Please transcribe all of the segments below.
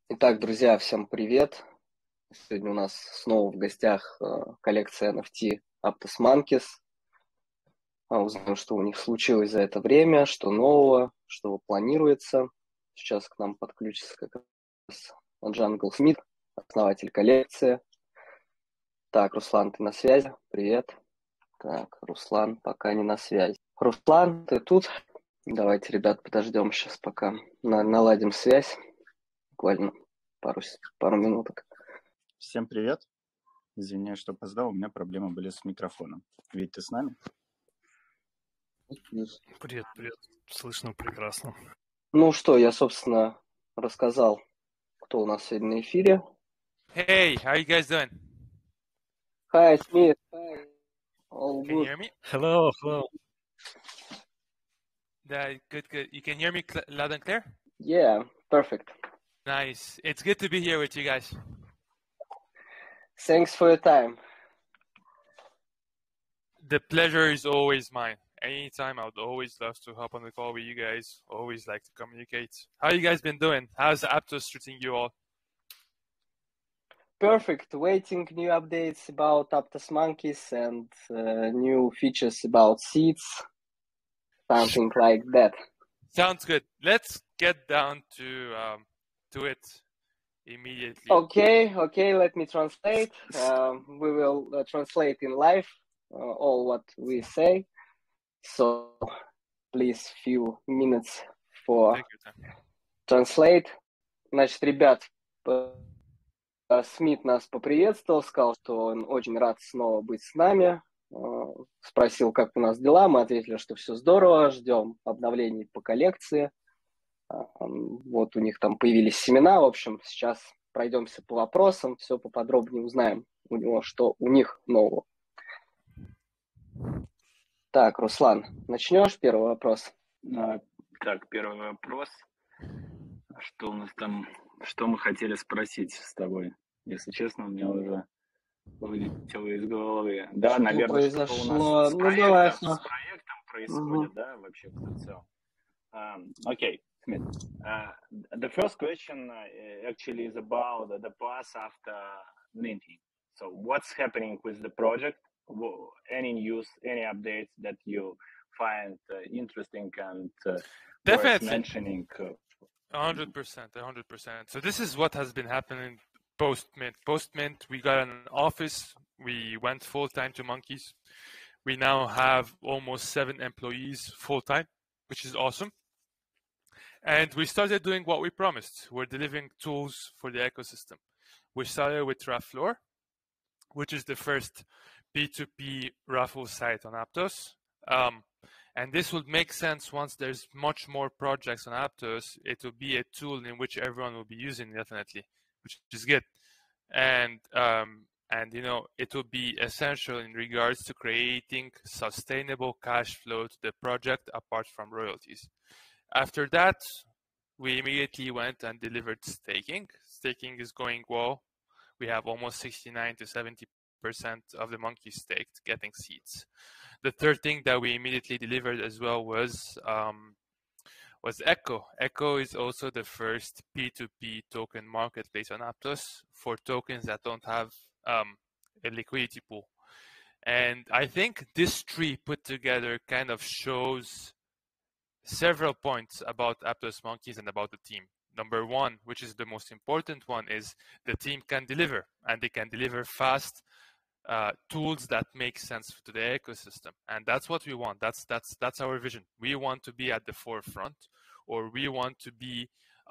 Итак, друзья, всем привет! Сегодня у нас снова в гостях коллекция NFT Aptos Monkeys. Узнаем, что у них случилось за это время, что нового, что планируется. Сейчас к нам подключится как раз Джангл Смит, основатель коллекции. Так, Руслан, ты на связи? Привет. Так, Руслан пока не на связи. Руслан, ты тут? Давайте, ребят, подождем сейчас, пока наладим связь. Буквально пару минуток. Всем привет. Извиняюсь, что опоздал, у меня проблемы были с микрофоном. Вить, ты с нами? Привет. Слышно прекрасно. Ну что, я, собственно, рассказал, кто у нас сегодня на эфире. Hey, how you guys doing? Hi, Smith. Hi. All Can you good. hear me? Hello. Good. You can hear me loud and clear? Yeah, perfect. Nice. It's good to be here with you guys. Thanks for your time. The pleasure is always mine. Anytime, I would always love to hop on the call with you guys. Always like to communicate. How you guys been doing? How's Aptos treating you all? Perfect. Waiting new updates about Aptos Monkeys and new features about seeds. Something like that. Sounds good. Let's get down to it immediately. Okay. Let me translate. We will translate in live all what we say. So please few minutes for Take your time. translate. Значит, ребят, Смит нас поприветствовал, сказал, что он очень рад снова быть с нами. Спросил, как у нас дела. Мы ответили, что все здорово, ждем обновлений по коллекции. Вот у них там появились семена. В общем, сейчас пройдемся по вопросам, все поподробнее узнаем у него, что у них нового. Так, Руслан, начнешь первый вопрос? Так, первый вопрос. Что у нас там, что мы хотели спросить с тобой? Если честно, у меня уже вылетело из головы. Да, Что наверное, произошло? что у нас Ну, давай. с проектом происходит, да, вообще в целом. Okay, Smith. The first question actually is about the path after minting. So what's happening with the project? Any news, any updates that you find interesting and worth Definitely. mentioning? 100%. So this is what has been happening post-mint. Post-mint, we got an office. We went full-time to Monkeys. We now have almost 7 employees full-time, which is awesome. And we started doing what we promised. We're delivering tools for the ecosystem. We started with Raffleur, which is the first P2P raffle site on Aptos. And this would make sense once there's much more projects on Aptos. It will be a tool in which everyone will be using, definitely, which is good. And you know, it will be essential in regards to creating sustainable cash flow to the project apart from royalties. After that, we immediately went and delivered staking. Staking is going well. We have almost 69 to 70% of the monkeys staked, getting seeds. The third thing that we immediately delivered as well was Echo. Echo is also the first P2P token marketplace on Aptos for tokens that don't have a liquidity pool. And I think this tree put together kind of shows several points about Aptos Monkeys and about the team. Number one, which is the most important one, is the team can deliver, and they can deliver fast tools that make sense to the ecosystem, and that's what we want. That's our vision. We want to be at the forefront, or we want to be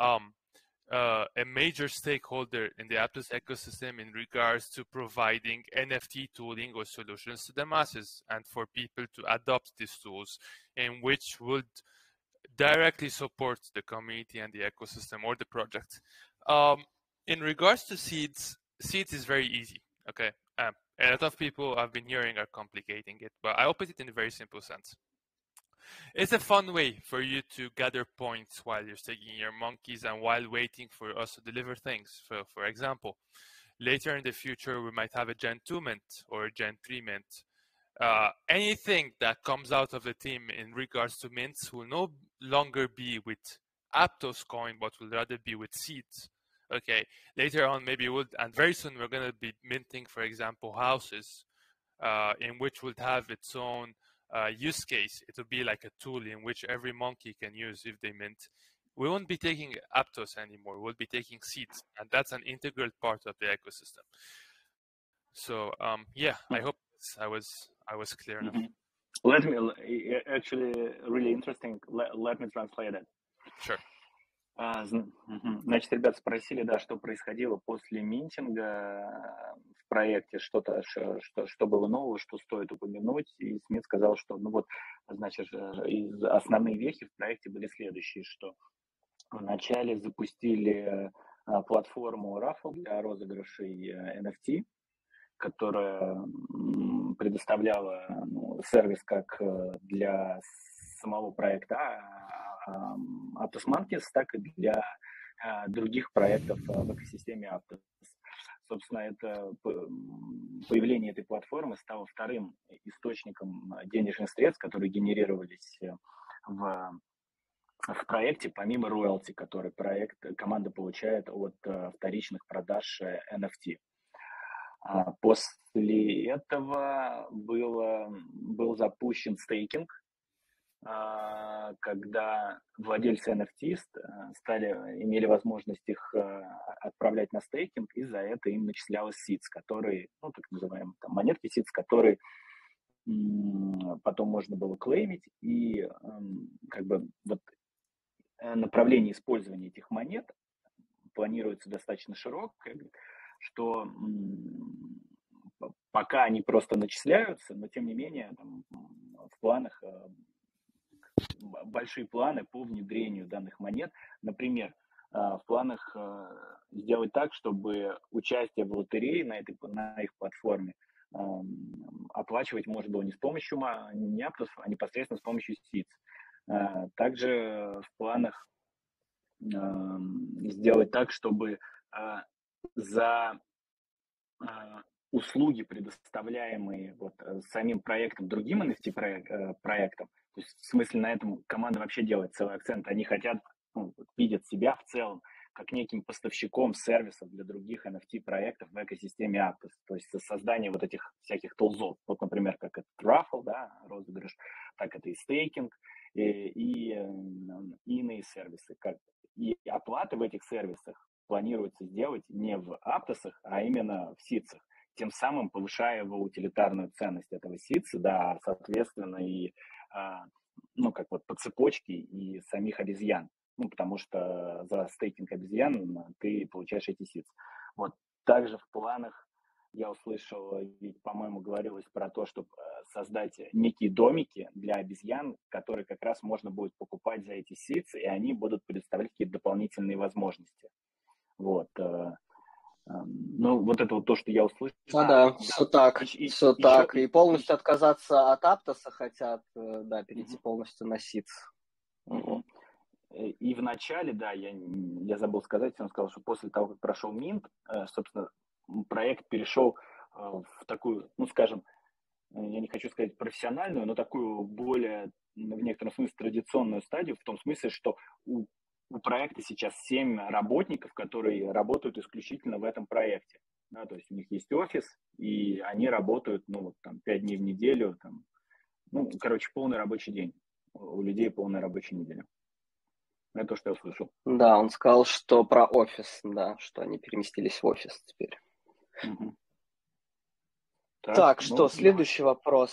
a major stakeholder in the Aptos ecosystem in regards to providing NFT tooling or solutions to the masses, and for people to adopt these tools, in which would directly support the community and the ecosystem or the project. In regards to seeds is very easy. Okay, a lot of people I've been hearing are complicating it, but I'll put it in a very simple sense. It's a fun way for you to gather points while you're staking your monkeys and while waiting for us to deliver things. For example, later in the future, we might have a Gen 2 mint or a Gen 3 mint. Anything that comes out of the team in regards to mints will no longer be with Aptos coin, but will rather be with seeds. Okay, later on maybe and very soon we're going to be minting, for example, houses in which would have its own use case. It will be like a tool in which every monkey can use if they mint. We won't be taking Aptos anymore. We'll be taking seeds, and that's an integral part of the ecosystem. So I hope I was clear enough. Let me actually really interesting. Let me translate it. Sure. Значит, ребята спросили, да, что происходило после минтинга в проекте, что было нового, что стоит упомянуть. И Смит сказал, что, значит, основные вехи в проекте были следующие, что вначале запустили платформу Raffle для розыгрышей NFT, которая предоставляла сервис как для самого проекта Aptos Monkeys, так и для других проектов в экосистеме Aptos. Собственно, это появление этой платформы стало вторым источником денежных средств, которые генерировались в проекте, помимо роялти, который команда получает от вторичных продаж NFT. После этого был запущен стейкинг, когда владельцы NFT имели возможность их отправлять на стейкинг, и за это им начислялось seeds, которые, так называемые монетки seeds, которые потом можно было клеймить, и направление использования этих монет планируется достаточно широкое, что пока они просто начисляются, но тем не менее в планах большие планы по внедрению данных монет. Например, в планах сделать так, чтобы участие в лотерее на их платформе оплачивать можно было не с помощью не Aptos, а непосредственно с помощью seeds. Также в планах сделать так, чтобы за услуги, предоставляемые самим проектом, другим NFT-проектам, то есть в смысле на этом команда вообще делает целый акцент, они хотят, видят себя в целом как неким поставщиком сервисов для других NFT-проектов в экосистеме Aptos, то есть создание этих всяких тулзов, например, как это Raffle, да, розыгрыш, так это и стейкинг, и иные сервисы, и оплаты в этих сервисах планируется сделать не в Aptos, а именно в ситсах, тем самым повышая его утилитарную ценность этого ситса, да, соответственно, и по цепочке и самих обезьян, потому что за стейкинг обезьян ты получаешь эти ситсы. Также в планах я услышал, ведь, по-моему, говорилось про то, чтобы создать некие домики для обезьян, которые как раз можно будет покупать за эти ситсы, и они будут предоставлять какие-то дополнительные возможности. Это то, что я услышал. Да, все так. И полностью отказаться от Aptos хотят, да, перейти полностью на ситс. И в начале, да, я забыл сказать, он сказал, что после того, как прошел минт, собственно, проект перешел в такую, скажем, я не хочу сказать профессиональную, но такую более, в некотором смысле, традиционную стадию, в том смысле, что у проекта сейчас 7 работников, которые работают исключительно в этом проекте. Да, то есть у них есть офис, и они работают 5 дней в неделю. Полный рабочий день. У людей полная рабочая неделя. Это то, что я услышал. Да, он сказал, что про офис, да, что они переместились в офис теперь. Угу. Так, следующий вопрос.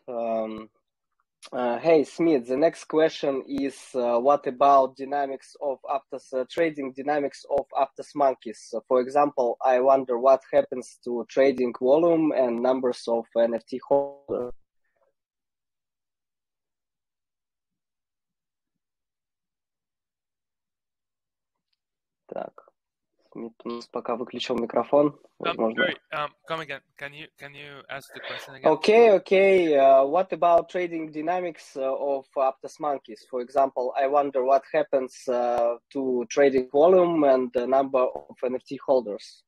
Hey, Smith, the next question is what about dynamics of Aptos, trading dynamics of Aptos Monkeys? For example, I wonder what happens to trading volume and numbers of NFT holders. Так, Смит у нас пока выключил микрофон. Возможно. Come again. Can you ask the question again? Okay. What about trading dynamics of Aptos Monkeys? For example, I wonder what happens to trading volume and the number of NFT holders.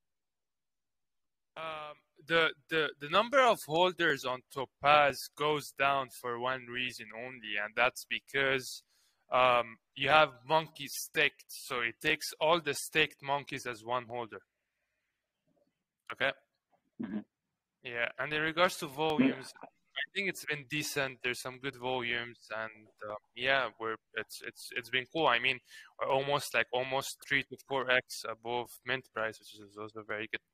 The number of holders on Topaz goes down for one reason only, and that's because you have monkeys staked, so it takes all the staked monkeys as one holder. Okay. Mm-hmm. Yeah, and in regards to volumes, I think it's been decent. There's some good volumes, and yeah, it's been cool. I mean, we're almost 3 to 4x above mint price, which is also very good.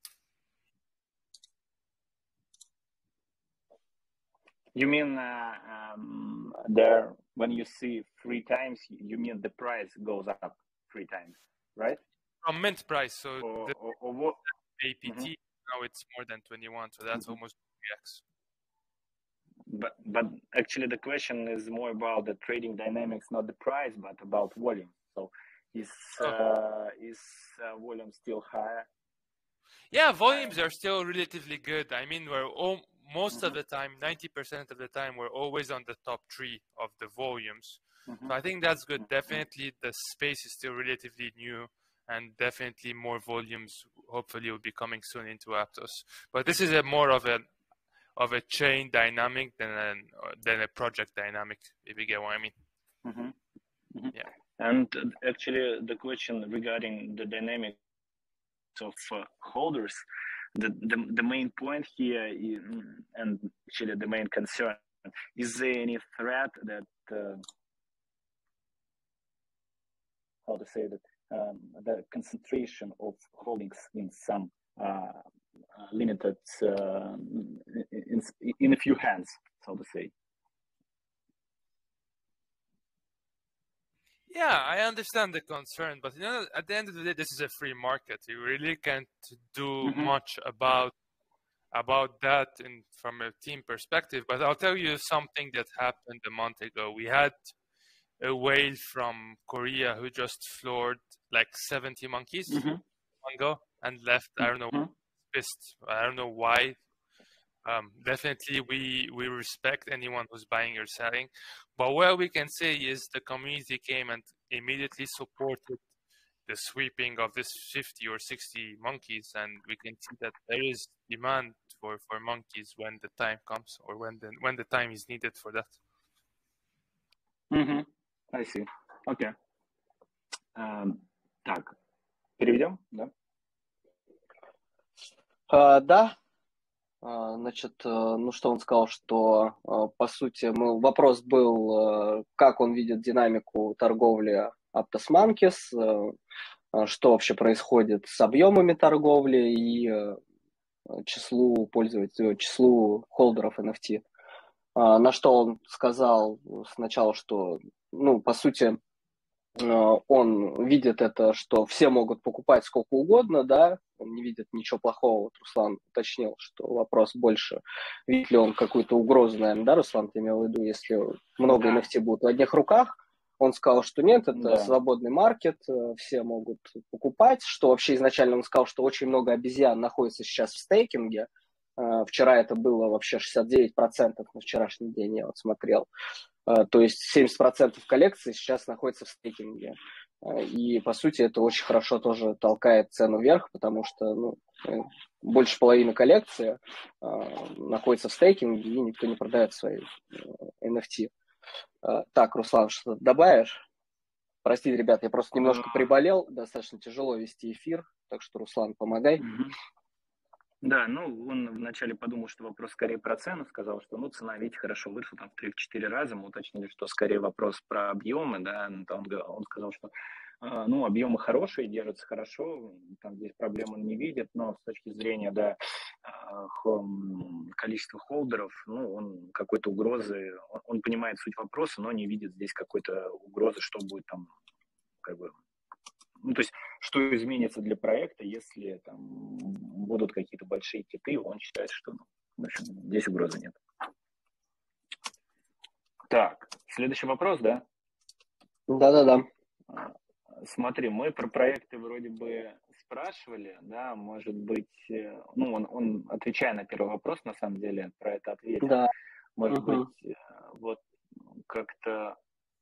You mean there when you see 3 times, you mean the price goes up 3 times, right? From mint price, so or what? APT now it's more than 21, so that's almost 3x. But actually the question is more about the trading dynamics, not the price, but about volume. So is volume still higher? Yeah, volumes are still relatively good. I mean, most of the time, 90% of the time, we're always on the top 3 of the volumes. So I think that's good. Definitely the space is still relatively new, and definitely more volumes hopefully will be coming soon into Aptos. But this is more of a chain dynamic than a project dynamic, if you get what I mean. Yeah. And actually the question regarding the dynamic of holders, the main point here and actually the main concern, is there any threat that how to say that the concentration of holdings in some limited in a few hands, so to say? Yeah, I understand the concern, but at the end of the day, this is a free market. You really can't do much about that from a team perspective. But I'll tell you something that happened a month ago. We had a whale from Korea who just floored 70 monkeys one go and left. I don't know, pissed. I don't know why. Definitely, we respect anyone who's buying or selling, but what we can say is the community came and immediately supported the sweeping of this 50 or 60 monkeys, and we can see that there is demand for monkeys when the time comes, or when the time is needed for that. I see. Okay. Так, переведем, да? Да. Значит, ну что он сказал, что по сути вопрос был, как он видит динамику торговли Aptos Monkeys, что вообще происходит с объемами торговли и числу пользователей, числу холдеров NFT. На что он сказал сначала, что, по сути, он видит это, что все могут покупать сколько угодно, да, он не видит ничего плохого. Вот Руслан уточнил, что вопрос больше, видит ли он какую-то угрозу, наверное, да, Руслан, ты имел в виду, если много NFT будут в одних руках. Он сказал, что нет, это свободный маркет, все могут покупать, что вообще изначально он сказал, что очень много обезьян находится сейчас в стейкинге. Вчера это было вообще 69% на вчерашний день, я вот смотрел. То есть 70% коллекции сейчас находится в стейкинге. И, по сути, это очень хорошо тоже толкает цену вверх, потому что больше половины коллекции находится в стейкинге, и никто не продает свои NFT. Так, Руслан, что добавишь? Простите, ребят, я просто немножко приболел, достаточно тяжело вести эфир, так что, Руслан, помогай. Да, он вначале подумал, что вопрос скорее про цену, сказал, что цена, видите, хорошо выросла там в 3-4 раза, мы уточнили, что скорее вопрос про объемы, да, он сказал, что объемы хорошие, держатся хорошо, там здесь проблем он не видит, но с точки зрения, да, количества холдеров, он какой-то угрозы, он понимает суть вопроса, но не видит здесь какой-то угрозы, что будет там, то есть, что изменится для проекта, если там будут какие-то большие киты, он считает, что в общем, здесь угрозы нет. Так, следующий вопрос, да? Да. Смотри, мы про проекты вроде бы спрашивали, да, может быть, он отвечая на первый вопрос, на самом деле, про это ответил. Да. Может быть, вот как-то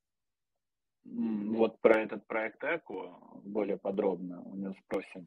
вот про этот проект Эко более подробно у него спросим.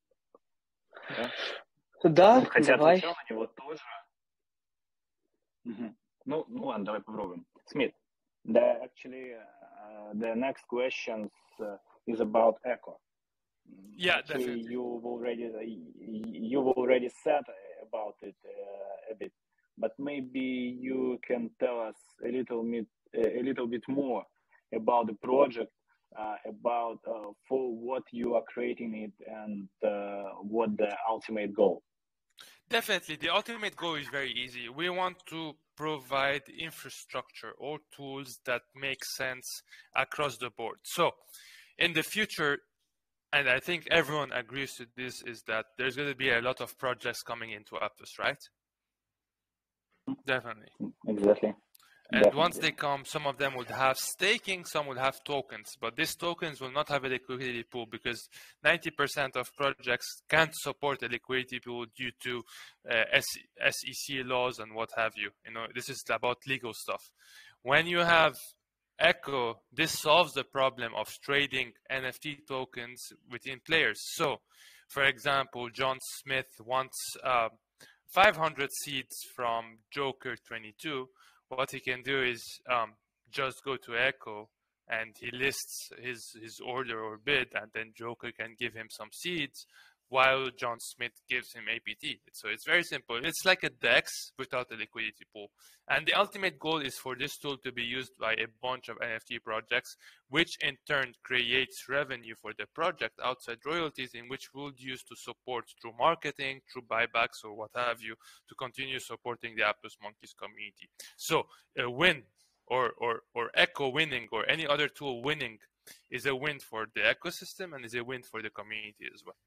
Да, хотя давай. отвечал на него тоже. Ладно, давай попробуем. Смит, actually, the next question is about Echo. Yeah, Actually, definitely. you've already said about it a bit, but maybe you can tell us a little bit more about the project, about for what you are creating it, and what the ultimate goal. Definitely, the ultimate goal is very easy. We want to provide infrastructure or tools that make sense across the board. So, in the future, and I think everyone agrees to this, is that there's going to be a lot of projects coming into Aptos, right? Definitely. Exactly. And Definitely. once they come, some of them would have staking, some would have tokens, but these tokens will not have a liquidity pool because 90% of projects can't support a liquidity pool due to SEC laws and what have you. You know, this is about legal stuff. When you have Echo, this solves the problem of trading NFT tokens within players. So, for example, John Smith wants 500 seeds from Joker 22. What he can do is just go to Echo and he lists his order or bid, and then Joker can give him some seeds while John Smith gives him APT. So it's very simple. It's like a DEX without a liquidity pool. And the ultimate goal is for this tool to be used by a bunch of NFT projects, which in turn creates revenue for the project outside royalties, in which we'll use to support through marketing, through buybacks, or what have you, to continue supporting the Aptos Monkeys community. So a win or Echo winning or any other tool winning is a win for the ecosystem and is a win for the community as well.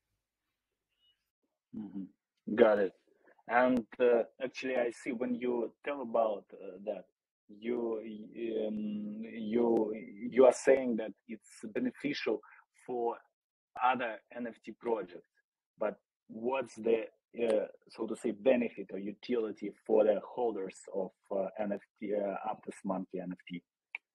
Mm-hmm. Got it. And actually, I see when you tell about that, you are saying that it's beneficial for other NFT projects. But what's the so to say benefit or utility for the holders of NFT Aptos Monkey NFT?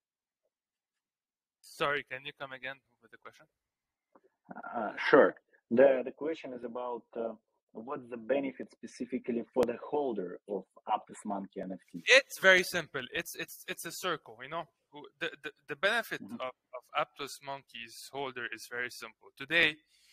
Sorry, can you come again with the question? Sure. The question is about what's the benefit specifically for the holder of Aptos Monkey NFT? It's very simple. It's a circle, you know. The benefit of Aptos Monkeys holder is very simple. Today,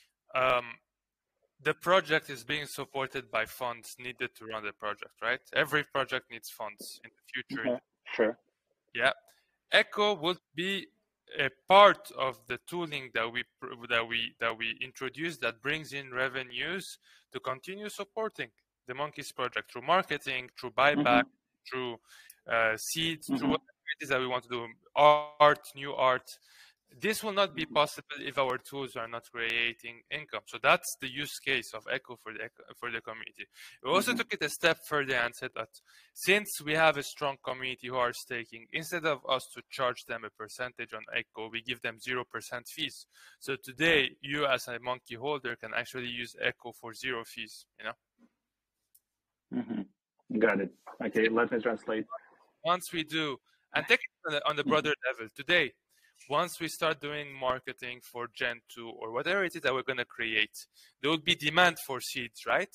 the project is being supported by funds needed to run the project, right? Every project needs funds in the future. Sure. Yeah. Echo would be a part of the tooling that we introduce that brings in revenues to continue supporting the Monkeys project through marketing, through buyback, through seeds, through whatever it is that we want to do, art, new art. This will not be possible if our tools are not creating income. So that's the use case of Echo for the community. We also took it a step further and said that since we have a strong community who are staking, instead of us to charge them a percentage on Echo, we give them 0% fees. So today, you as a monkey holder can actually use Echo for 0 fees, you know? Got it. Okay, let me translate. Once we do, and take it on the broader level, today, once we start doing marketing for Gen 2 or whatever it is that we're going to create, there will be demand for seeds, right?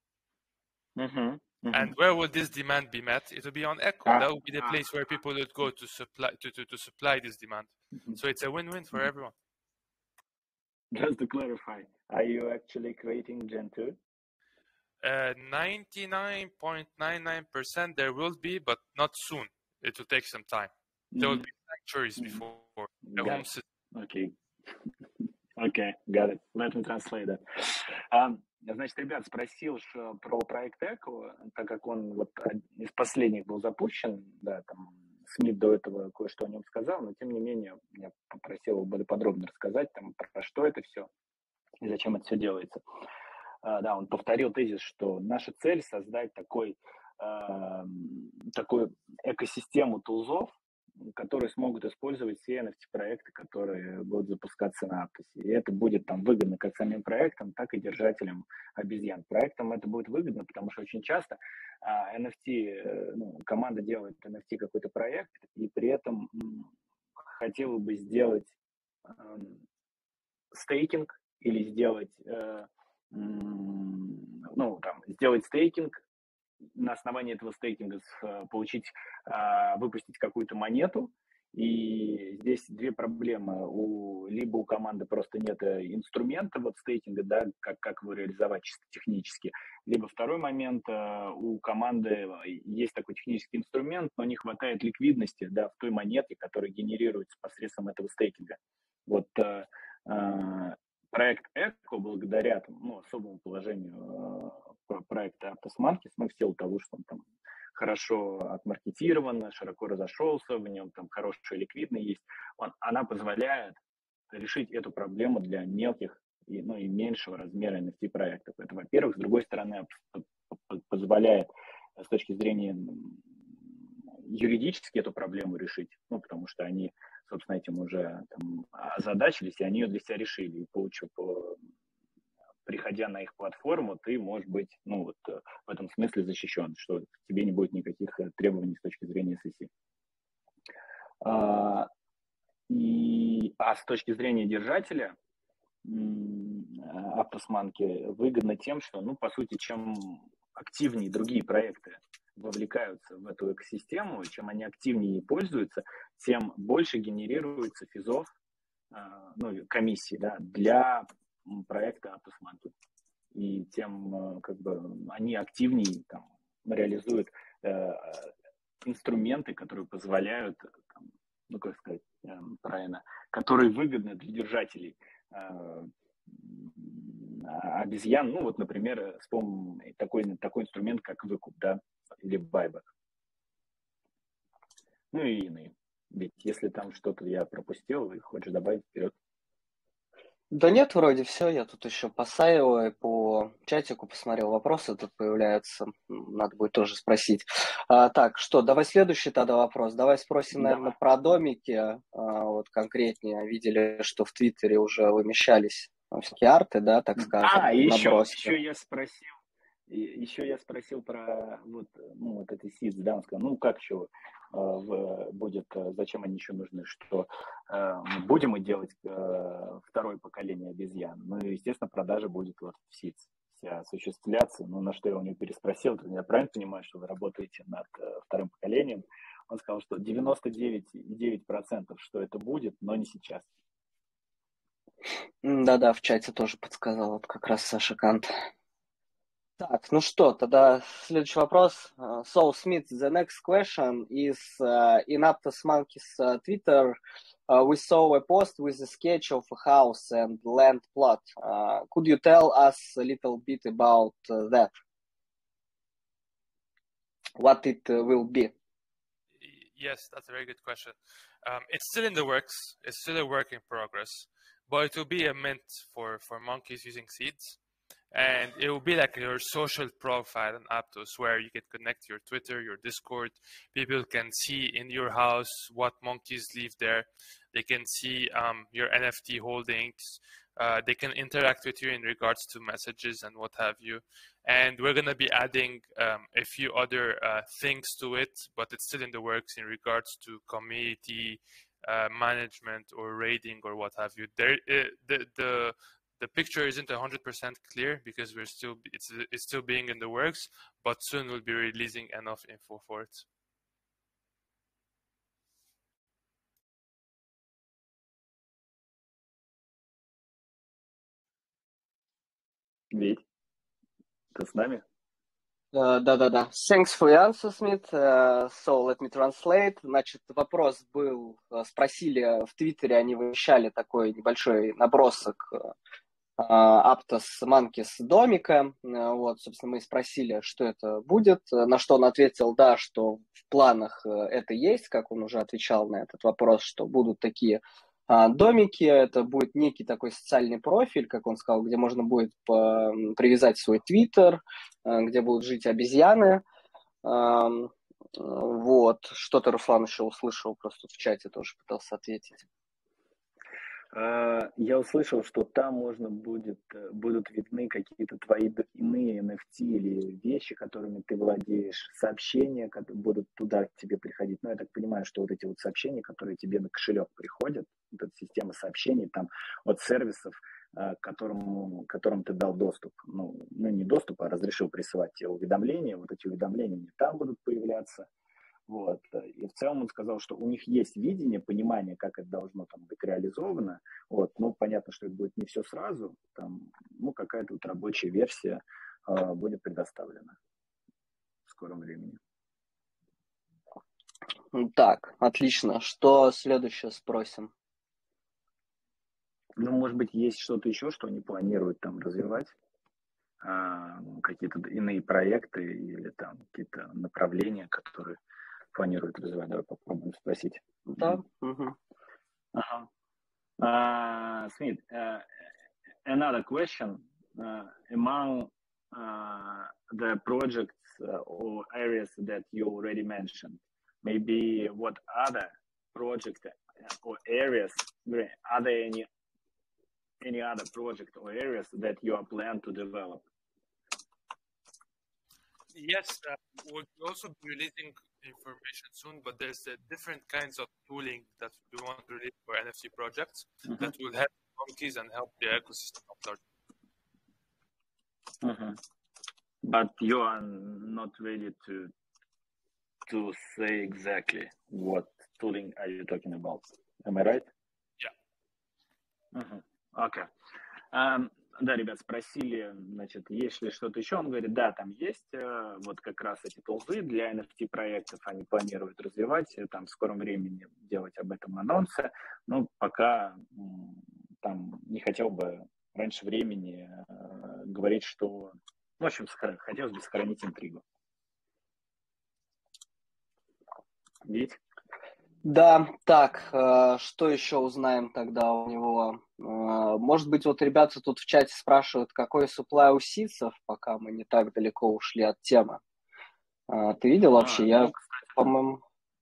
And where will this demand be met? It will be on Echo. That will be the place where people would go to supply this demand. So it's a win-win for everyone. Just to clarify, are you actually creating Gen 2? 99.99% there will be, but not soon. It will take some time. There will be sanctuaries before the home system. Okay, got it. Let me translate that. Значит, ребят, спросил про проект Echo, так как он вот из последних был запущен, да, там Смит до этого кое-что о нем сказал, но тем не менее я попросил его более подробно рассказать, там, про что это все и зачем это все делается. Да, он повторил тезис, что наша цель создать такую экосистему тулзов, которые смогут использовать все NFT-проекты, которые будут запускаться на Aptos. И это будет там выгодно как самим проектам, так и держателям обезьян. Проектам это будет выгодно, потому что очень часто NFT, команда делает NFT какой-то проект, и при этом хотела бы сделать стейкинг или сделать, сделать стейкинг, на основании этого стейкинга выпустить какую-то монету И здесь две проблемы. Либо у команды просто нет инструмента вот стейкинга, да, как его реализовать чисто технически. Либо второй момент, у команды есть такой технический инструмент, но не хватает ликвидности, да, в той монете, которая генерируется посредством этого стейкинга. Вот проект Echo, благодаря особому положению проекта Aptos Monkeys, в силу того, что он там хорошо отмаркетирован, широко разошелся, в нем там хорошая ликвидность есть, она позволяет решить эту проблему для мелких и меньшего размера NFT проектов. Это, во-первых. С другой стороны, позволяет с точки зрения юридически эту проблему решить, потому что они, собственно, этим уже озадачились, и они ее для себя решили. И приходя на их платформу, ты можешь быть, в этом смысле защищен, что к тебе не будет никаких требований с точки зрения SEC. А с точки зрения держателя, Aptos Monkey выгодно тем, что, по сути, чем активнее другие проекты вовлекаются в эту экосистему, чем они активнее пользуются, тем больше генерируется физов, комиссий, да, для проекта Aptos Monkey. И тем они активнее реализуют инструменты, которые позволяют, правильно, которые выгодны для держателей обезьян. Например, вспомним такой инструмент, как выкуп, да, или байбек. И иные. Ведь если там что-то я пропустил, и хочешь добавить, вперед. Да нет, вроде все. Я тут еще по Сайо и по чатику посмотрел, вопросы тут появляются. Надо будет тоже спросить. Так, что, давай следующий тогда вопрос. Давай спросим, наверное, про домики. Вот конкретнее. Видели, что в Твиттере уже вымещались всякие арты, да, так скажем. Еще я спросил про эти сидс, да, он сказал, как еще будет, зачем они еще нужны, что будем мы делать второе поколение обезьян. Естественно, продажа будет в сидс осуществляться. На что я у него переспросил, я правильно понимаю, что вы работаете над вторым поколением? Он сказал, что 99,9% что это будет, но не сейчас. Да-да, в чате тоже подсказал, вот как раз Саша Кант. Так, ну что, тогда следующий вопрос. So, Smith, the next question is in Aptos Monkeys Twitter, we saw a post with a sketch of a house and land plot. Could you tell us a little bit about that? What it will be? Yes, that's a very good question. It's still in the works. It's still a work in progress, but it will be a mint for monkeys using seeds. And it will be like your social profile on Aptos, where you can connect your Twitter, your Discord. People can see in your house what monkeys live there. They can see your NFT holdings. They can interact with you in regards to messages and what have you. And we're going to be adding a few other things to it, but it's still in the works in regards to community management or raiding or what have you. The picture isn't 100% clear because it's still being in the works, but soon we'll be releasing enough info for it. Ведь, ты с нами? Да-да-да. Thanks for your answer, Smith. So, let me translate. Значит, вопрос был, спросили в Твиттере, они вещали такой небольшой набросок Aptos Monkeys домика. Вот, собственно, мы спросили, что это будет, на что он ответил, да, что в планах это есть, как он уже отвечал на этот вопрос, что будут такие домики, это будет некий такой социальный профиль, как он сказал, где можно будет привязать свой Twitter, где будут жить обезьяны. Вот, что-то Руслан еще услышал, просто в чате тоже пытался ответить. Я услышал, что там будут видны какие-то твои иные NFT или вещи, которыми ты владеешь, сообщения, которые будут туда к тебе приходить. Я так понимаю, что вот эти вот сообщения, которые тебе на кошелек приходят, вот эта система сообщений там от сервисов, которым ты дал доступ, не доступ, а разрешил присылать тебе уведомления, вот эти уведомления не там будут появляться, Вот. И в целом он сказал, что у них есть видение, понимание, как это должно там быть реализовано. Вот. Ну, понятно, что это будет не все сразу. Там, ну, какая-то вот рабочая версия будет предоставлена в скором времени. Так, отлично. Что следующее спросим? Ну, может быть, есть что-то еще, что они планируют там развивать? Какие-то иные проекты или там какие-то направления, которые планируют развивать. Давай попробуем спросить. Да. Угу. Smith, another question. Among the projects or areas that you already mentioned, maybe what other projects or areas, are there any other project or areas that you are planning to develop? Yes, we'll also be releasing information soon, but there's different kinds of tooling that we want to release for NFT projects that will help monkeys and help the ecosystem at large. But you are not ready to say exactly what tooling are you talking about. Am I right? Yeah. Okay. Да, ребят, спросили, значит, есть ли что-то еще. Он говорит, да, там есть вот как раз эти тулзы для NFT-проектов. Они планируют развивать, там в скором времени делать об этом анонсы. Но пока там не хотел бы раньше времени говорить, что... В общем, хотелось бы сохранить интригу. Ведь? Да, так, что еще узнаем тогда у него? Может быть, вот ребята тут в чате спрашивают, какой supply у ситцев, пока мы не так далеко ушли от темы. Ты видел вообще? Я, по-моему...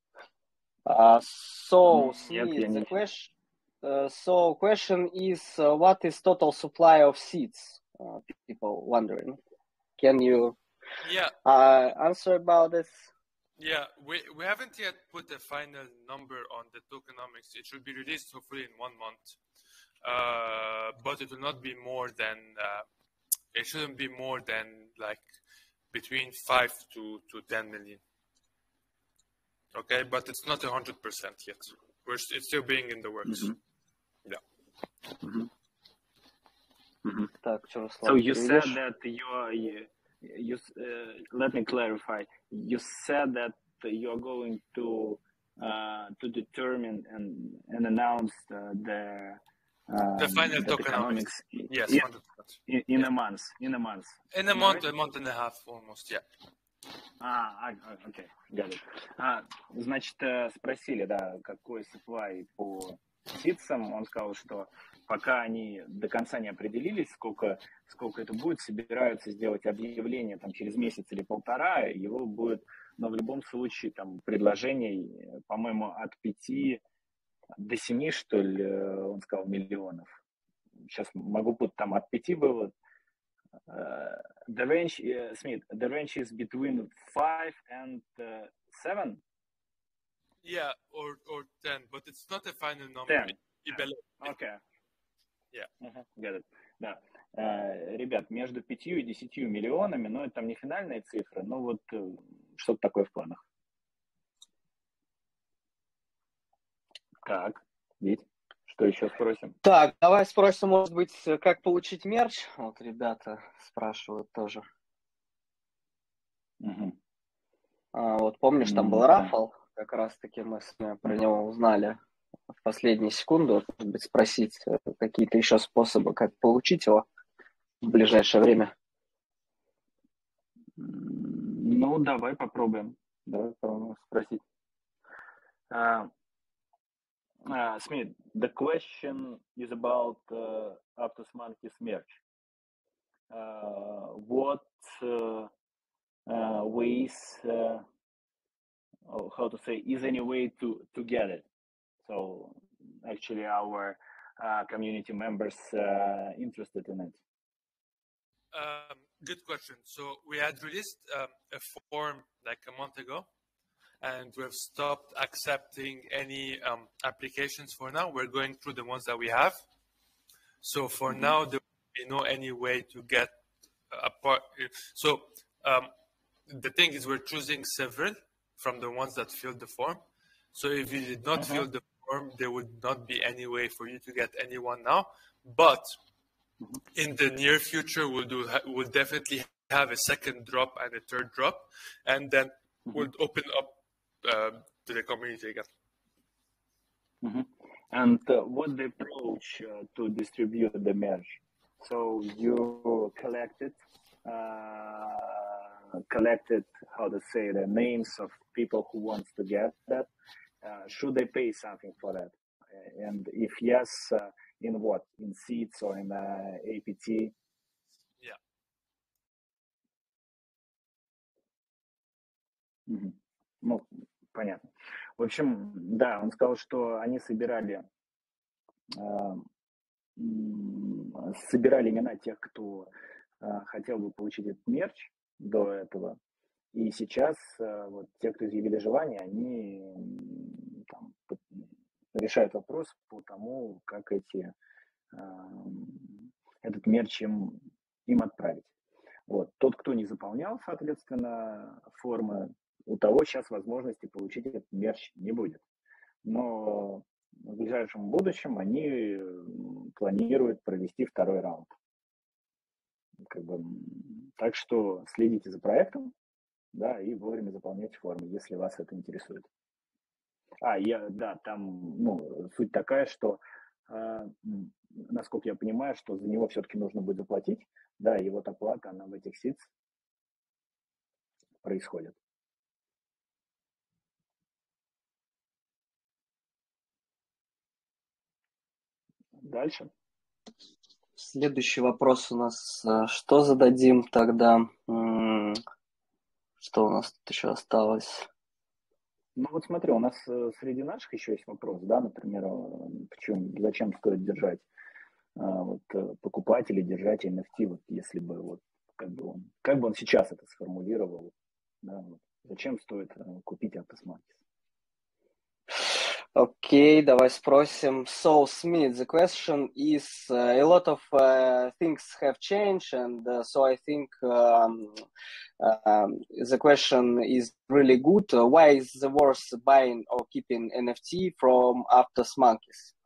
So, Smith, the question is, what is total supply of seeds? People wondering. Can you answer about this? Yeah, we haven't yet put a final number on the tokenomics. It should be released hopefully in 1 month, but it will not be more than. It shouldn't be more than like between 5 to 10 million. Okay, but it's not 100% yet. It's still being in the works. Yeah. So you said that you let me clarify. You said that you're going to determine and announce the final tokenomics. Yes, in a month. In a month. In a month, right? A month and a half almost. Yeah. Окей, got it. Значит, спросили, да, какой supply по ситцам. Он сказал, что пока они до конца не определились, сколько это будет, собираются сделать объявление там через месяц или полтора, его будет, но в любом случае там предложений, по-моему, от 5 до 7, что ли, он сказал, миллионов. Сейчас могу путать, там от 5 было. The range, Smith, the range is between 5 and 7? Yeah, or 10, but it's not a final number. 10. Okay. Yeah. Got it. Да. Ребят, между 5 и 10 миллионами, но это там не финальные цифры, но вот что-то такое в планах. Так, Вить, что еще спросим? Так, давай спросим, может быть, как получить мерч? Вот ребята спрашивают тоже. Вот помнишь, там был рафл, как раз-таки мы с вами про него узнали в последние секунды. Вот, может быть, спросить какие-то еще способы, как получить его в ближайшее время. Ну, давай попробуем. Давай спросить. Smith, the question is about Aptos Monkeys merch. What ways, how to say, is any way to get it? So actually our community members interested in it. Good question. So we had released a form like a month ago, and we've stopped accepting any applications for now. We're going through the ones that we have. So for now, there will be no any way to get a part. So the thing is, we're choosing several from the ones that filled the form. So if you did not fill the form, there would not be any way for you to get anyone now. But in the near future, we'll definitely have a second drop and a third drop, and then we'll open up to the community again. And what the approach to distribute the merge? So you collected, how to say, the names of people who wants to get that. Should they pay something for that? And if yes, in what? In seats or in APT? Yeah. Ну, понятно. В общем, да, он сказал, что они собирали имена тех, кто хотел бы получить этот мерч до этого. И сейчас вот те, кто изъявили желание, они там решают вопрос по тому, как этот мерч им отправить. Вот. Тот, кто не заполнял, соответственно, формы, у того сейчас возможности получить этот мерч не будет. Но в ближайшем будущем они планируют провести второй раунд. Так что следите за проектом, да, и вовремя заполняйте формы, если вас это интересует. Там суть такая, что, насколько я понимаю, что за него все-таки нужно будет заплатить, да, и вот оплата, она в этих ситс происходит. Дальше. Следующий вопрос у нас. Что зададим тогда? Что у нас тут еще осталось? Ну вот смотри, у нас среди наших еще есть вопрос, да, например, зачем стоит держать покупать или держать NFT, вот если бы вот как бы он сейчас это сформулировал, да, вот, зачем стоит купить Aptos Monkeys? Окей, давай спросим. So, Smith, the question is, a lot of things have changed, and so I think the question is really good. Why is the worth buying or keeping NFT from Aptos Monkeys?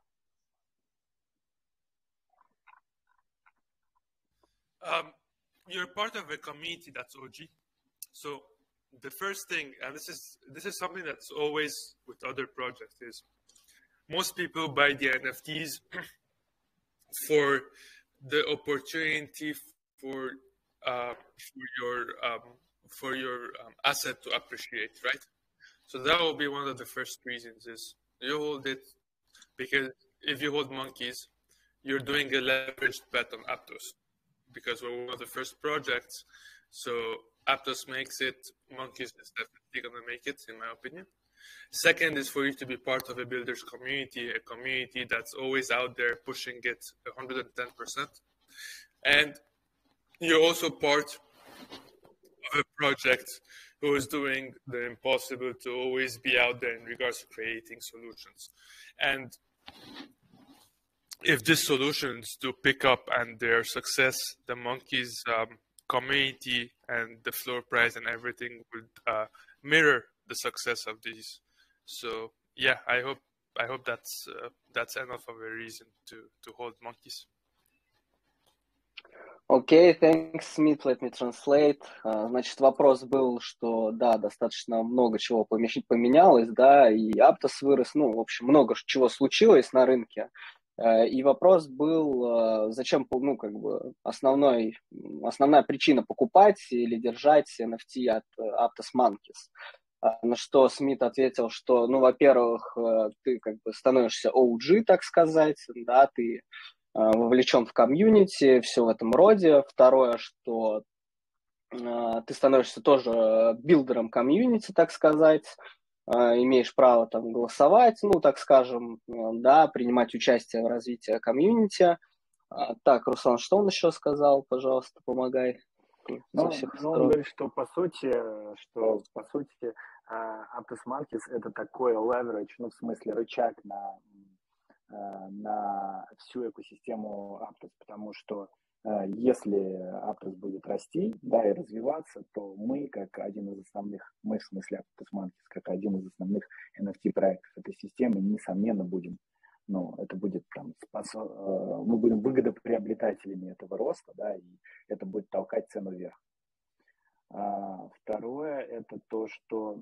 You're part of a community that's OG. So the first thing, and this is something that's always with other projects, is most people buy the NFTs for the opportunity for your asset to appreciate, right? So that will be one of the first reasons, is you hold it because if you hold Monkeys, you're doing a leveraged bet on Aptos, because we're one of the first projects. So Aptos makes it, Monkeys is definitely going to make it, in my opinion. Second is for you to be part of a builders community, a community that's always out there pushing it 110%. And you're also part of a project who is doing the impossible to always be out there in regards to creating solutions. And if these solutions do pick up and their success, the Monkeys community and the floor price and everything would mirror the success of these. So yeah, I hope that's enough of a reason to hold Monkeys. Окей, thanks, Smith, let me translate. Значит, вопрос был, что, да, достаточно много чего поменялось, да, и Aptos вырос, ну, в общем, много чего случилось на рынке. И вопрос был, зачем, ну, как бы, основная причина покупать или держать NFT от Aptos Monkeys. На что Смит ответил, что, ну, во-первых, ты как бы становишься OG, так сказать, да, ты вовлечен в комьюнити, все в этом роде. Второе, что ты становишься тоже билдером комьюнити, так сказать, имеешь право там голосовать, ну, так скажем, да, принимать участие в развитии комьюнити. Так, Руслан, что он еще сказал? Пожалуйста, помогай. Он говорит, что по сути Aptos Monkeys это такой leverage, ну, в смысле рычаг на всю экосистему Aptos, потому что если Aptos будет расти, да, и развиваться, то мы, как один из основных, мы в смысле Aptos Monkeys, как один из основных NFT-проектов этой системы, несомненно, будем, ну, это будет там, мы будем выгодоприобретателями этого роста, да, и это будет толкать цену вверх. Второе, это то, что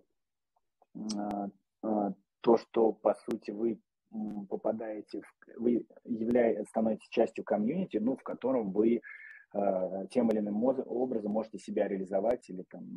по сути, вы попадаете, вы становитесь частью комьюнити, ну, в котором вы тем или иным образом можете себя реализовать или там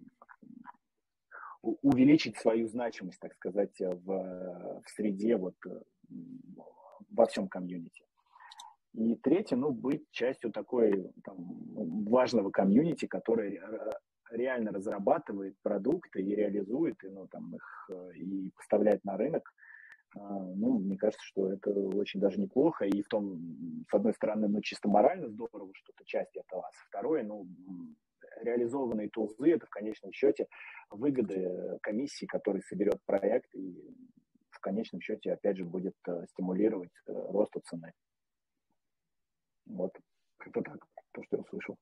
увеличить свою значимость, так сказать, в среде, вот, во всем комьюнити. И третье, ну, быть частью такой там, важного комьюнити, который реально разрабатывает продукты и реализует, и, ну, там, их и поставляет на рынок. Ну, мне кажется, что это очень даже неплохо. И в том, с одной стороны, ну, чисто морально здорово, что это часть этого. А со второй, ну, реализованные тулзы, это в конечном счете выгоды комиссии, которая соберет проект и в конечном счете, опять же, будет стимулировать росту цены. Вот, как-то так, то, что я услышал.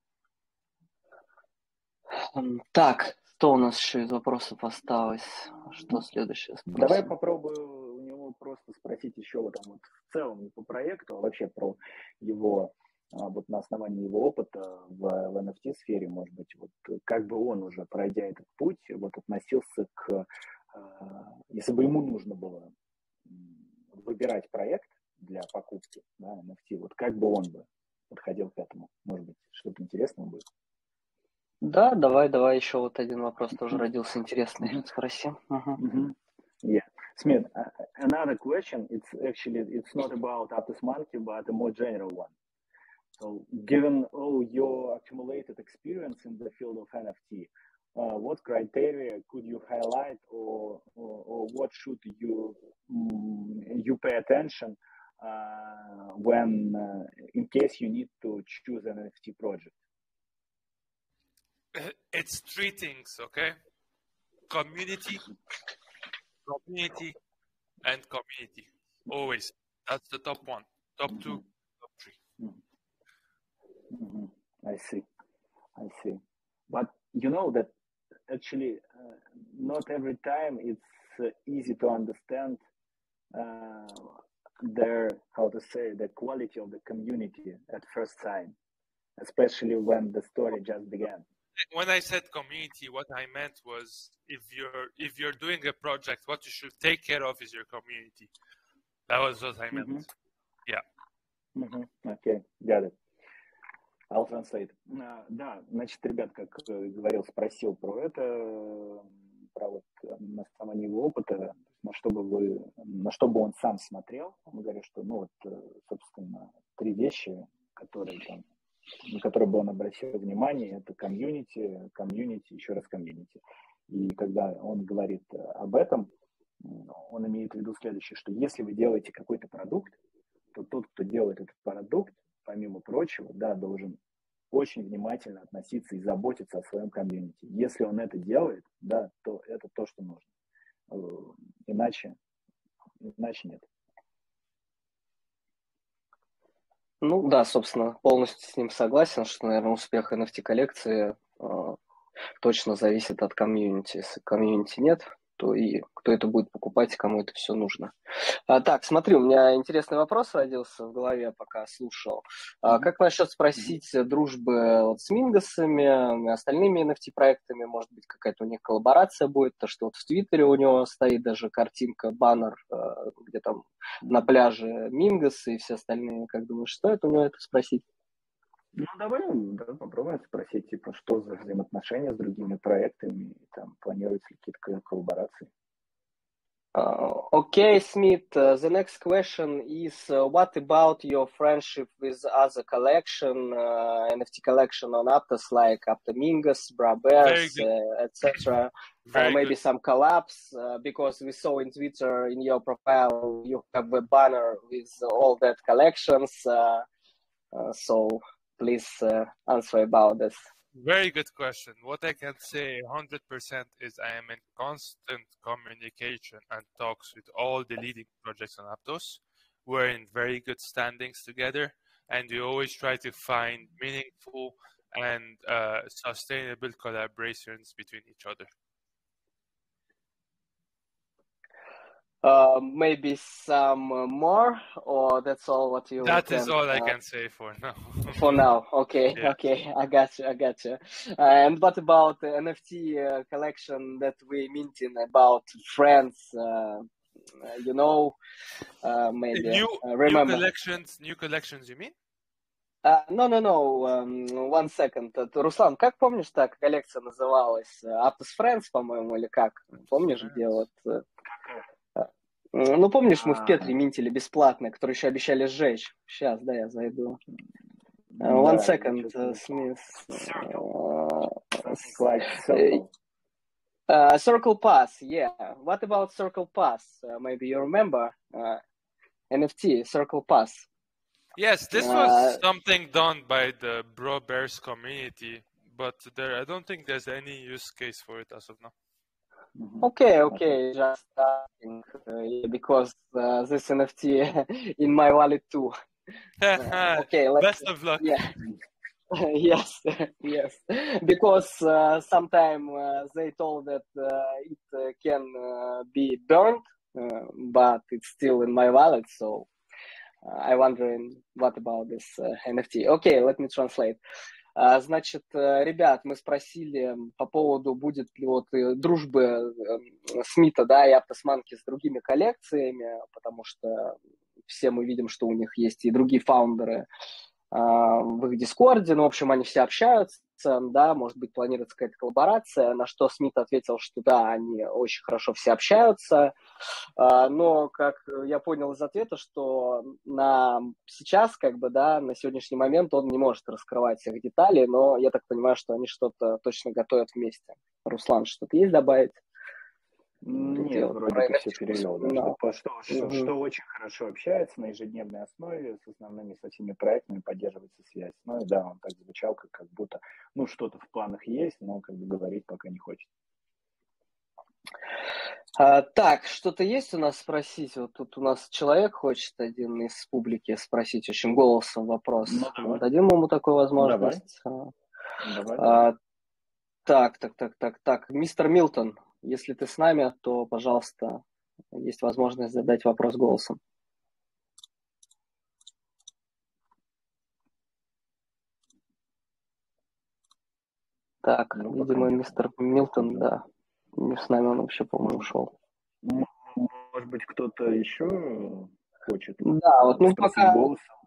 Так, что у нас еще из вопросов осталось? Что следующее спросим? Давай попробую у него просто спросить еще вот, там, вот в целом не по проекту, а вообще про его, вот на основании его опыта в NFT-сфере, может быть, вот как бы он уже, пройдя этот путь, вот относился к, если бы ему нужно было выбирать проект для покупки, да, NFT, вот как бы он бы подходил к этому? Может быть, что-то интересное будет? Да, давай еще вот один вопрос тоже родился интересный. Спроси. Yeah. Smith, another question, it's not about Aptos Monkey, but a more general one. So, given all your accumulated experience in the field of NFT, what criteria could you highlight, or what should you pay attention when, in case you need to choose an NFT project? It's three things, okay? Community, and community. Always. That's the top one. Top two, top three. I see. But you know that actually not every time it's easy to understand the quality of the community at first sight, especially when the story just began. When I said community, what I meant was if you're doing a project, what you should take care of is your community. That was what I meant. Yeah. Okay, got it. I'll translate. Да, значит, ребят, как говорил, спросил про это, про вот на основании его опыта, на что бы он сам смотрел. Он говорит, что, ну вот, собственно, три вещи, на которые бы он обратил внимание, это комьюнити, еще раз комьюнити. И когда он говорит об этом, он имеет в виду следующее, что если вы делаете какой-то продукт, то тот, кто делает этот продукт, помимо прочего, да, должен очень внимательно относиться и заботиться о своем комьюнити. Если он это делает, да, то это то, что нужно. Иначе нет. Ну да, собственно, полностью с ним согласен, что, наверное, успех NFT-коллекции точно зависит от комьюнити. Если комьюнити нет, то и кто это будет покупать, и кому это все нужно. Так, смотри, у меня интересный вопрос родился в голове, пока слушал. Как насчет спросить дружбы вот с Мингасами и остальными NFT-проектами? Может быть, какая-то у них коллаборация будет? То, что вот в Твиттере у него стоит даже картинка, баннер, где там на пляже Мингасы и все остальные. Как думаешь, стоит у него это спросить? Ну, давай попробуем спросить, типа, что за взаимоотношения с другими проектами, там, планируются ли какие-то коллаборации. Okay, Smith, the next question is, what about your friendship with other collection, NFT collection on Aptos, like Aptomingus, Brabers, etc.? Maybe good. Some collabs, because we saw in Twitter, in your profile, you have a banner with all that collections. So please answer about this. Very good question. What I can say 100% is I am in constant communication and talks with all the leading projects on Aptos. were in very good standings together, and we always try to find meaningful and sustainable collaborations between each other. Maybe some more, or that's all what you That can... is all I can say for now. For now, okay, Yeah. okay, I got you. And what about the NFT collection that we mentioned about friends? Maybe New remember. New collections, you mean? No. One second. Руслан, как помнишь, так коллекция называлась? Aptos Friends, по-моему, или как? Помнишь, где вот... Ну, помнишь, мы в Петре минтили бесплатно, которые еще обещали сжечь. Сейчас, да, я зайду. One second, Smith. Circle Pass, yeah. What about Circle Pass? Maybe you remember NFT, Circle Pass. Yes, this was something done by the Bro Bears community, but I don't think there's any use case for it as of now. Okay, just asking, because this NFT in my wallet too. Okay, best of luck. Yeah. yes, because sometime they told that it can be burned, but it's still in my wallet, so I'm wondering what about this NFT. Okay, let me translate. Значит, ребят, мы спросили по поводу, будет ли вот дружбы Смита, да, и Aptos Monkeys с другими коллекциями, потому что все мы видим, что у них есть и другие фаундеры в их Дискорде, ну, в общем, они все общаются, да, может быть, планируется какая-то коллаборация, на что Смит ответил, что да, они очень хорошо все общаются, но, как я понял из ответа, что сейчас, как бы, да, на сегодняшний момент он не может раскрывать всех деталей, но я так понимаю, что они что-то точно готовят вместе. Руслан, что-то есть добавить? Нет, вроде бы все перевел. Да, что очень хорошо общается на ежедневной основе с основными, со всеми проектами, поддерживается связь. Ну и да, он так звучал, как будто, ну, что-то в планах есть, но как бы говорить пока не хочет. Так, что-то есть у нас спросить? Вот тут у нас человек хочет один из публики спросить очень голосом вопрос. Ну, дадим ему такую возможность? Давай. Так. Мистер Милтон, если ты с нами, то, пожалуйста, есть возможность задать вопрос голосом. Так, видимо, мистер Милтон, да. Не с нами он вообще, по-моему, ушел. Может быть, кто-то еще хочет? Да, вот, ну, пока... Голосом.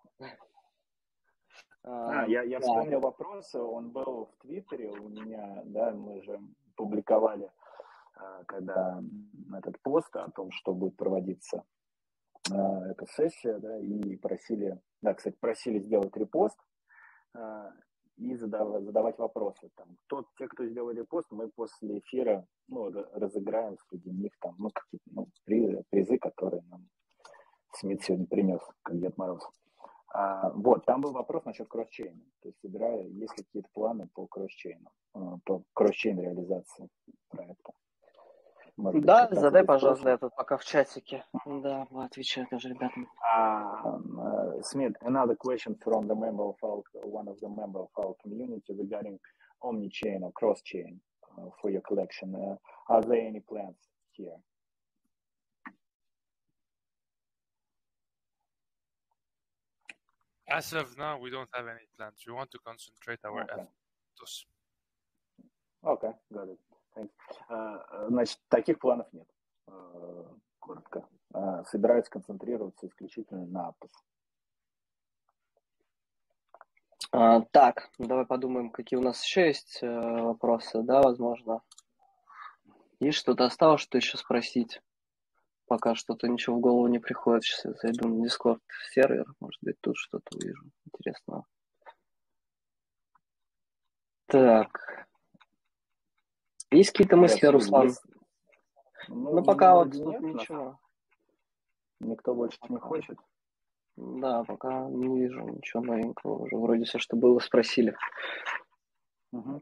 Я вспомнил вопрос, он был в Твиттере у меня, да, мы же публиковали, когда этот пост о том, что будет проводиться эта сессия, да, и просили сделать репост и задавать вопросы. Там, те, кто сделал репост, мы после эфира разыграем среди них там, какие-то призы, которые нам Смит сегодня принес, как Дед Мороз. Вот, там был вопрос насчет кросс-чейна. То есть, есть ли какие-то планы по кросс-чейну, по кросс-чейн реализации проекта? Может да, задай, пожалуйста, это пока в чатике. Да, отвечаю тоже ребятам. Smith, another question from one of the member of our community regarding omni-chain or cross-chain for your collection. Are there any plans here? As of now, we don't have any plans. We want to concentrate our efforts. Okay, got it. Thanks. Значит, таких планов нет. Коротко. Собираются концентрироваться исключительно на Aptos. Так, давай подумаем, какие у нас еще есть вопросы, да, возможно. Есть что-то осталось, что еще спросить? Пока что-то ничего в голову не приходит. Сейчас я зайду на Discord сервер, может быть, тут что-то увижу интересного. Так. Есть какие-то мысли, Руслан? Ну, пока вот тут нет, ничего. Никто больше не хочет? Да, пока не вижу ничего новенького. Уже вроде все, что было, спросили. Угу.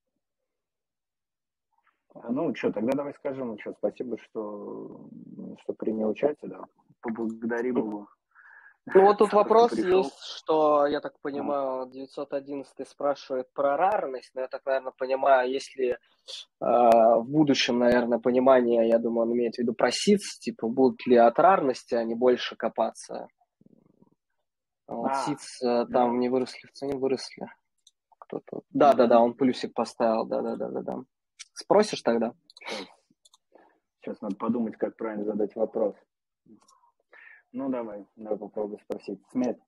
Ну, что, тогда давай скажем, спасибо, что принял участие, да. Поблагодарим его Ну вот тут Сам вопрос пришел. есть, что, я так понимаю, 911 спрашивает про рарность, но я так, наверное, понимаю, если в будущем, наверное, понимание, я думаю, он имеет в виду про ситс, типа, будут ли от рарности они больше копаться. Вот ситс Да. там не выросли, в цене выросли. Кто-то. Да, он плюсик поставил, да. Спросишь тогда? Сейчас надо подумать, как правильно задать вопрос. Ну, давай попробуй спросить. Смит,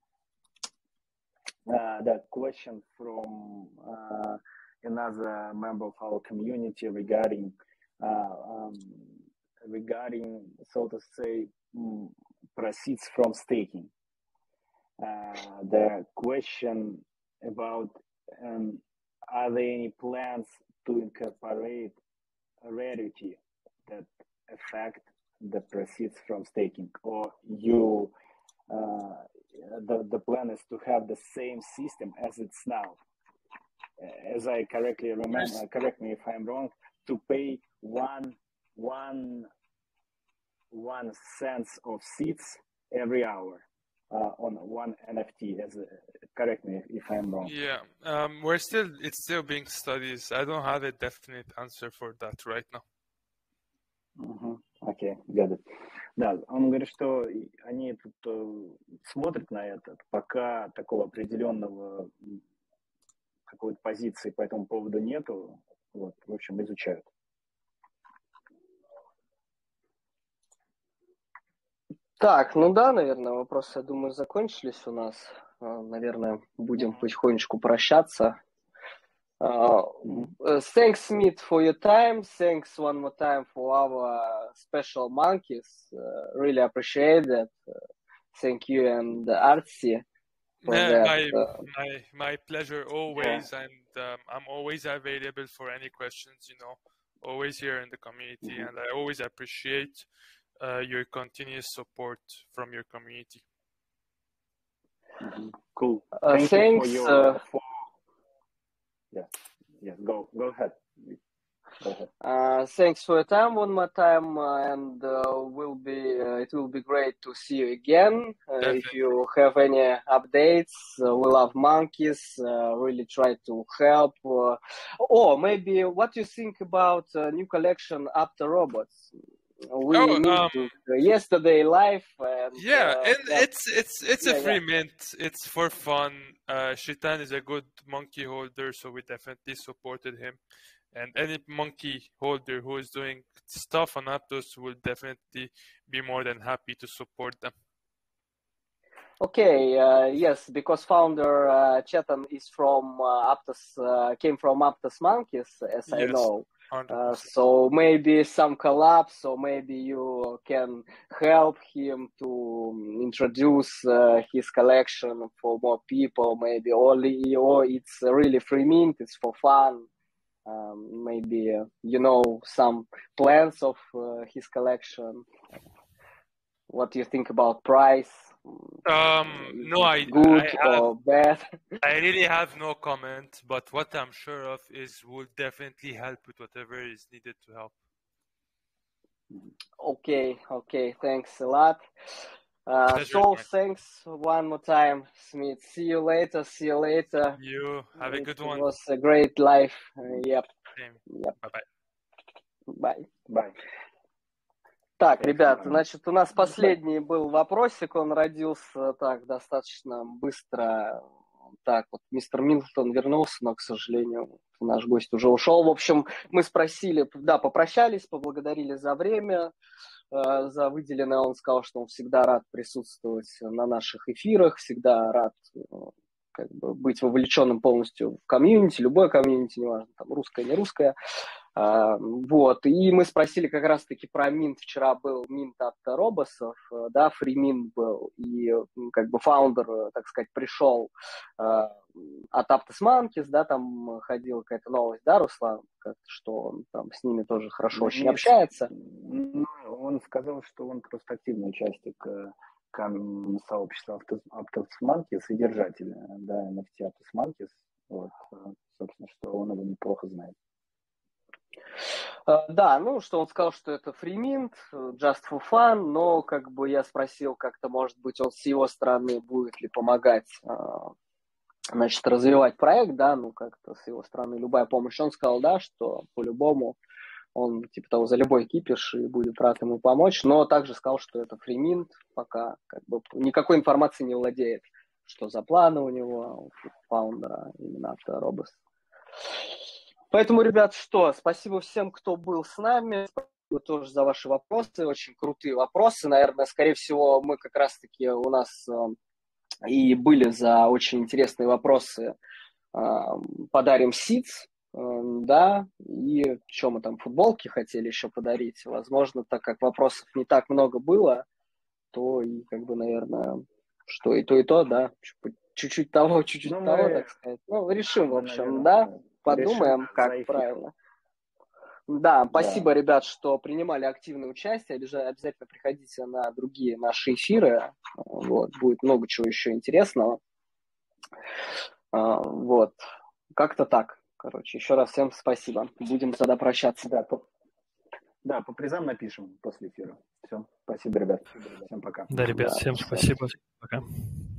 that question from another member of our community regarding, so to say, proceeds from staking. The question about are there any plans to incorporate rarity that affect the proceeds from staking, or you the plan is to have the same system as it's now, as I correctly remember, correct me if I'm wrong, to pay one cents of seeds every hour on one NFT. Correct me if I'm wrong. Yeah, it's still being studied. I don't have a definite answer for that right now. Окей, got it. Да, он говорит, что они тут смотрят на это, пока такого определенного какой-то позиции по этому поводу нету, вот, в общем, изучают. Так, ну да, наверное, вопросы, я думаю, закончились у нас. Наверное, будем потихонечку прощаться. Thanks, Smith, for your time. Thanks one more time for our special monkeys. Really appreciate that. Thank you and Artsy for that. My pleasure always, and I'm always available for any questions. Always here in the community, and I always appreciate your continuous support from your community. Cool. Thanks. Yeah. Go ahead. Thanks for your time one more time, and it will be great to see you again. If you have any updates, we love monkeys. Really try to help. Maybe what you think about new collection After Robots? We meeting yesterday live. And it's a free mint. It's for fun. Shitan is a good monkey holder, so we definitely supported him. And any monkey holder who is doing stuff on Aptos will definitely be more than happy to support them. Okay, yes, because founder Chetan is from Aptos, came from Aptos Monkeys, as I know. So maybe some collabs, or maybe you can help him to introduce his collection for more people, maybe or it's really free mint, it's for fun. Maybe some plans of his collection. What do you think about price? No, good or bad? I really have no comment, but what I'm sure of is we'll definitely help with whatever is needed to help. Okay, thanks a lot. Thanks one more time, Smith. See you later. You have a good one. It was a great life. Yep. Bye-bye. Bye. Так, ребят, значит, у нас последний был вопросик, он родился так достаточно быстро. Так, вот мистер Милтон вернулся, но, к сожалению, наш гость уже ушел. В общем, мы спросили, попрощались, поблагодарили за время, за выделенное. Он сказал, что он всегда рад присутствовать на наших эфирах, всегда рад быть вовлеченным полностью в комьюнити, любое комьюнити, неважно, там, русское, не русское. Вот, и мы спросили как раз-таки про минт. Вчера был минт от Робосов, да, фриминт был, и фаундер, так сказать, пришел от Aptos Monkeys, да, там ходила какая-то новость, да, Руслан, что он там с ними тоже хорошо очень общается. Он сказал, что он просто активный участник сообщества Aptos Monkeys и держатель, да, NFT Aptos Monkeys, вот, собственно, что он его неплохо знает. Да, ну, что он сказал, что это free mint, just for fun, но как бы я спросил, как-то, может быть, он с его стороны будет ли помогать, значит, развивать проект, да, ну, как-то с его стороны любая помощь. Он сказал, да, что по-любому он, типа того, за любой кипиш и будет рад ему помочь, но также сказал, что это free mint, пока как бы никакой информации не владеет, что за планы у него, у фаундера, именно от Робос. Поэтому, ребят, что, спасибо всем, кто был с нами, спасибо тоже за ваши вопросы, очень крутые вопросы, наверное, скорее всего, мы как раз-таки у нас и были за очень интересные вопросы, подарим сидс, да, и что мы там, футболки хотели еще подарить, возможно, так как вопросов не так много было, то и как бы, наверное, что и то, да, чуть-чуть того, чуть-чуть Ну, того, мы, так сказать. Ну, решим, в мы, общем, наверное, да, подумаем, решим как за эфир. правильно. Да, Да. спасибо, ребят, что принимали активное участие. Обязательно приходите на другие наши эфиры. Вот, будет много чего еще интересного. Вот, как-то так. Короче, еще раз всем спасибо. Будем тогда прощаться. Да, по призам напишем после эфира. Все, спасибо, ребят. Всем пока. Да, ребят, Да, всем всем. спасибо. Пока.